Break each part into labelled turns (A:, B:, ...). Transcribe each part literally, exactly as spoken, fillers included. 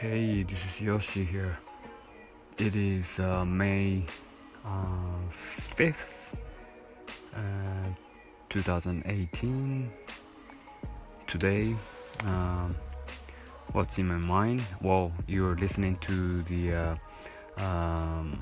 A: Hey, this is Yoshi here. It is uh, May uh, fifth, uh, twenty eighteen. Today, um, what's in my mind? Well, you're listening to the uh, um,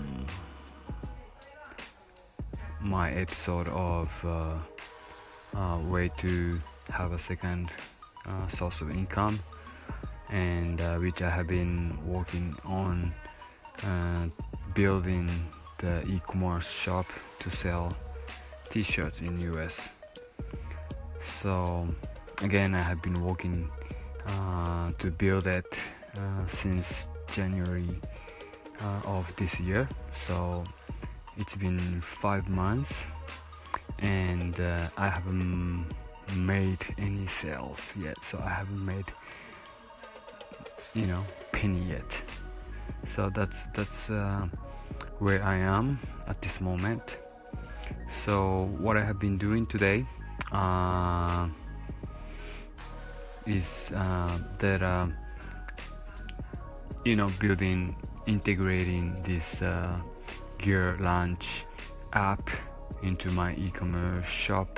A: my episode of uh, uh, way to have a second uh, source of income, and uh, which I have been working on uh, building the e-commerce shop to sell t-shirts in U S. So again, I have been working uh, to build it uh, since January uh, of this year. So it's been five months and uh, I haven't made any sales yet. So I haven't made you know penny yet. So that's that's uh, where I am at this moment. So what I have been doing today uh, is uh, that uh, you know building integrating this uh, Gear Launch app into my e-commerce shop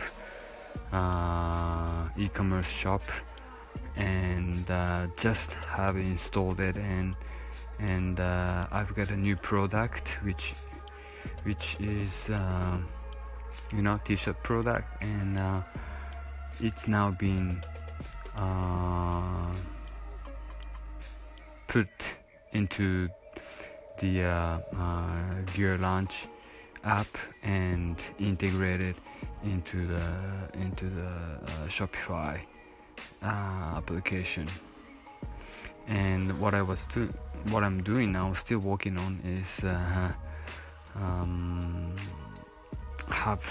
A: uh, e-commerce shop and uh, just have installed it, and and uh, I've got a new product which which is uh, you know t-shirt product, and uh, it's now being uh, put into the uh, uh, Gear Launch app and integrated into the into the uh, Shopify uh, application. And what I was do what I'm doing now, still working on, is uh, um, have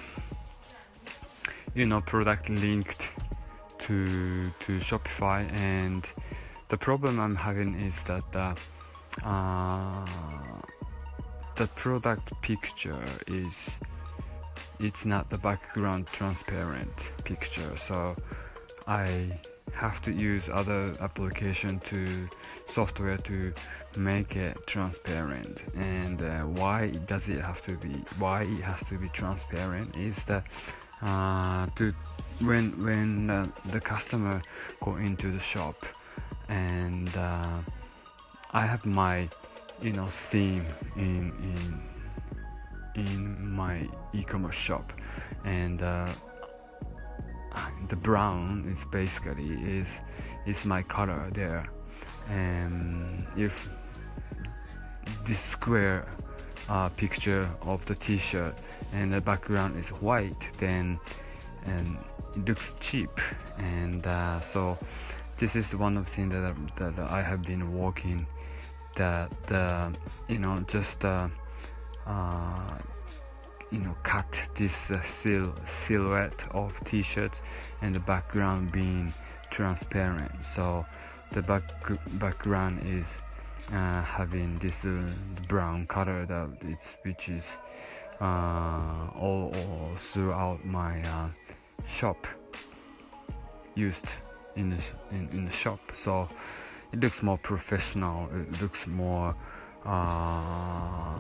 A: you know product linked to to Shopify. And the problem I'm having is that uh, uh, the product picture is it's not the background transparent picture, so I have to use other application to software to make it transparent. And uh, why does it have to be why it has to be transparent is that uh, to when when uh, the customer go into the shop, and uh, I have my you know theme in in in my e-commerce shop, and uh, the brown is basically is is my color there. And if this square uh, picture of the t-shirt and the background is white, then and it looks cheap. And uh, so this is one of the things that, that I have been working, that uh, you know just uh, uh, you know cut this uh, sil- silhouette of t-shirts and the background being transparent. So the back background is uh, having this uh, brown color that it's which is uh, all, all throughout my uh, shop, used in the sh- in, in the shop. So it looks more professional. It looks more uh,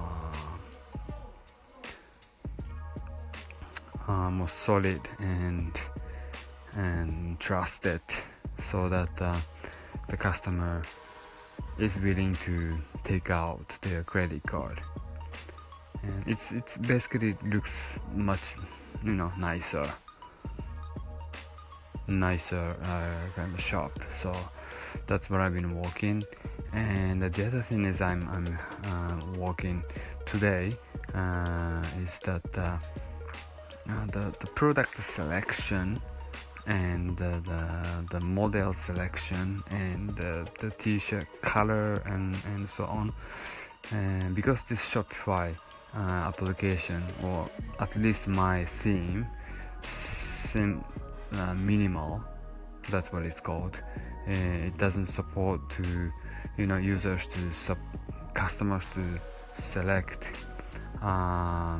A: uh, more solid and and trusted, so that uh, the customer is willing to take out their credit card. And it's it's basically looks much you know nicer nicer uh, kind of shop. So that's what I've been working. And the other thing is I'm I'm uh, working today uh, is that uh, uh, the the product selection and uh, the the model selection and uh, the t-shirt color and and so on. And because this Shopify uh, application, or at least my theme, sim uh, minimal, that's what it's called. Uh, it doesn't support to you know users to sub customers to select um,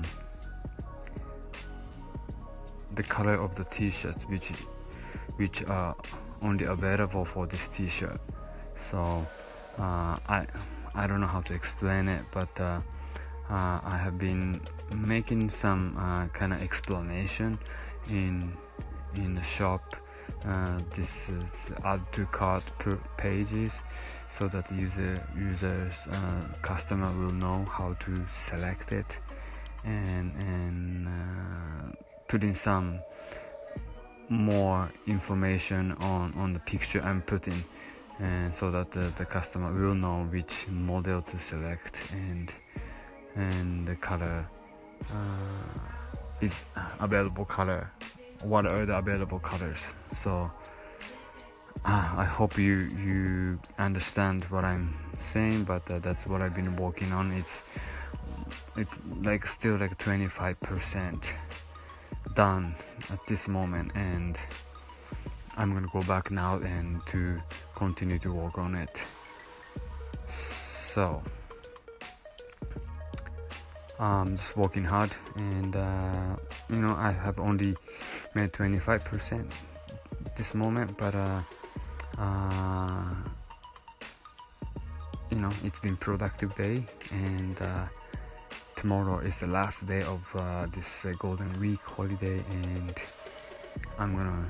A: the color of the t-shirts which which are only available for this t-shirt. So uh, I I don't know how to explain it, but uh, uh, I have been making some uh, kind of explanation in in the shop. Uh, this is add to cart pages, so that user users uh, customer will know how to select it, and and uh, put in some more information on on the picture I'm putting, and so that the, the customer will know which model to select, and and the color uh, is available color, what are the available colors. So uh, I hope you you understand what I'm saying, but uh, that's what I've been working on. It's it's like still like twenty-five percent done at this moment, and I'm gonna go back now and to continue to work on it. So I'm just working hard, and uh, you know, I have only made twenty-five percent this moment, but uh, uh, you know, it's been productive day, and uh, tomorrow is the last day of uh, this uh, Golden Week holiday, and I'm gonna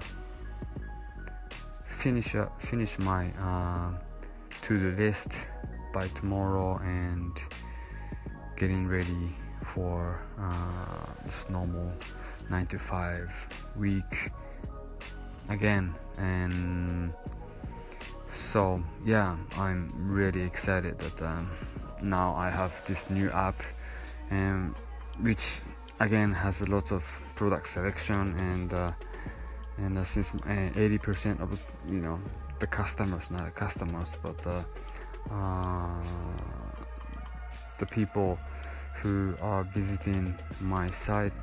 A: finish up, finish my uh, to-do list by tomorrow, and getting ready for uh, this normal nine to five week again. And so yeah, I'm really excited that um, now I have this new app, and which again has a lot of product selection, and uh, and uh, since uh, eighty percent of, you know, the customers, not the customers, but uh, uh, the people who are visiting my site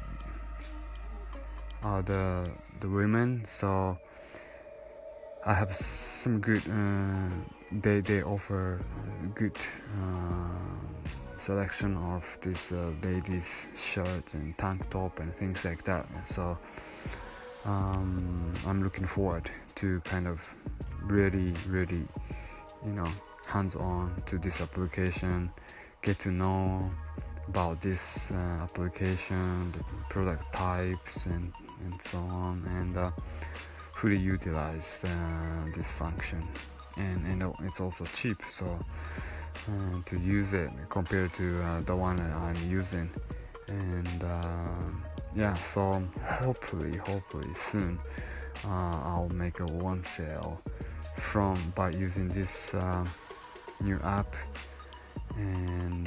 A: are the the women. So I have some good uh, they they offer good uh, selection of this uh, ladies shirts and tank top and things like that. So um, I'm looking forward to kind of really really you know hands-on to this application, get to know about this uh, application, the product types, and and so on, and uh, fully utilize uh, this function. And and it's also cheap, so uh, to use it compared to uh, the one that I'm using. And uh, yeah, so hopefully hopefully soon uh, I'll make a one sale from by using this uh, new app. And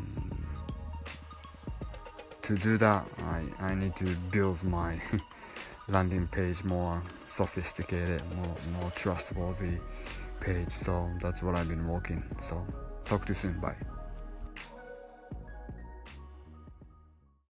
A: to do that, I, I need to build my landing page more sophisticated, more more trustworthy page. So that's what I've been working. So talk to you soon. Bye.